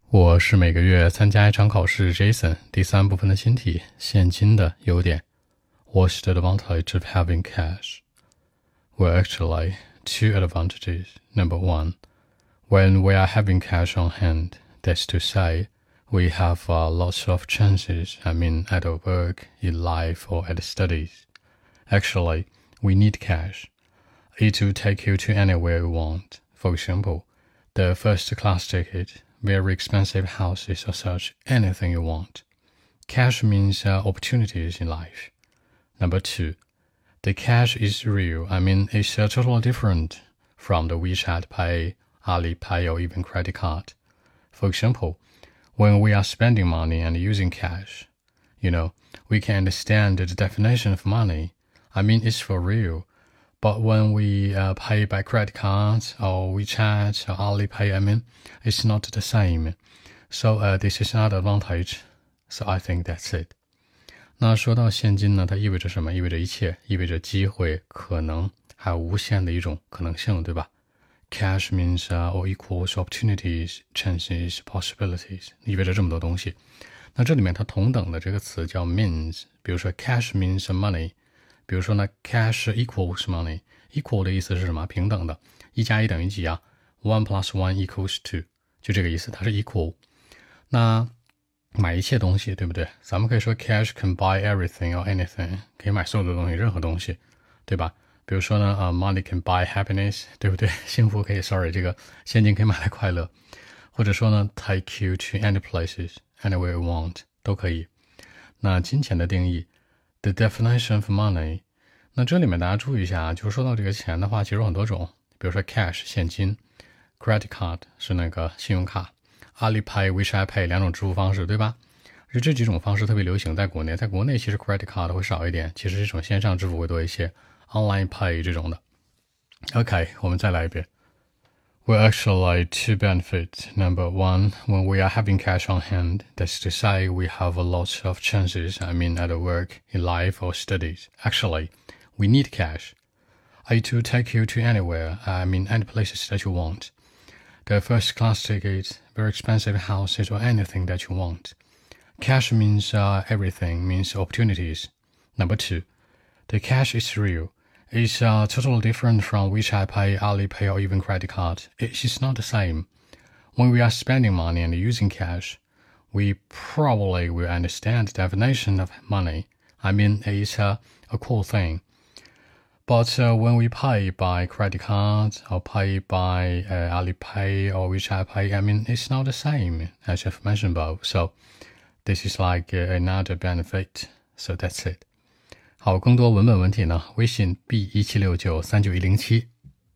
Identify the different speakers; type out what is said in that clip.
Speaker 1: 我是每个月参加一场考试 Jason 第三部分的新题，现金的优点。What's the advantage of having cash? Well, actually, two advantages. Number one, when we are having cash on hand, that's to say, we have lots of chances, at work, in life, or at studies. Actually, we need cash. It will take you to anywhere you want. For example, the first class ticket, very expensive houses or such, anything you want. Cash means opportunities in life. Number two, the cash is real. It's totally different from the WeChat Pay, Alipay, or even credit card. For example, when we are spending money and using cash, we can understand the definition of money. It's for real. But when we pay by credit cards or WeChat or Alipay, it's not the same. So this is not advantage. So I think that's it. 那说到现金呢，它意味着什么？意味着一切，意味着机会、可能，还有无限的一种可能性，对吧？ Cash means all equals opportunities, chances, possibilities， 意味着这么多东西。那这里面它同等的这个词叫 means， 比如说 cash means money， 比如说呢 cash equals money， equal 的意思是什么？平等的，一加一等于几啊？ 1 plus 1 equals 2， 就这个意思，它是 equal。那买一切东西，对不对？咱们可以说 cash can buy everything or anything， 可以买所有的东西，任何东西，对吧？比如说呢money can buy happiness， 对不对？幸福可以这个现金可以买来快乐。或者说呢 take you to any places, anywhere you want， 都可以。那金钱的定义 the definition of money， 那这里面大家注意一下，就是说到这个钱的话，其实有很多种，比如说 cash 现金， credit card 是那个信用卡，Alipay, WeChat Pay 两种支付方式，对吧？就这几种方式特别流行在国内，在国内其实 credit card 会少一点，其实这种线上支付会多一些 ，online pay 这种的。OK， 我们再来一遍。Well, actually, two benefits. Number one, when we are having cash on hand, that's to say we have a lot of chances, at work, in life, or studies. Actually, we need cash. It will take you to anywhere, any places that you want. The first class ticket, very expensive houses, or anything that you want. Cash means everything, means opportunities. Number two, the cash is real. It's totally different from WeChat Pay, Alipay, or even credit card. It's not the same. When we are spending money and using cash, we probably will understand the definition of money. It's a cool thing. But when we pay by credit card or pay by Alipay or WeChat Pay, it's not the same as I've mentioned above. So this is like another benefit. So that's it. 好，更多文本问题呢，微信 B176939107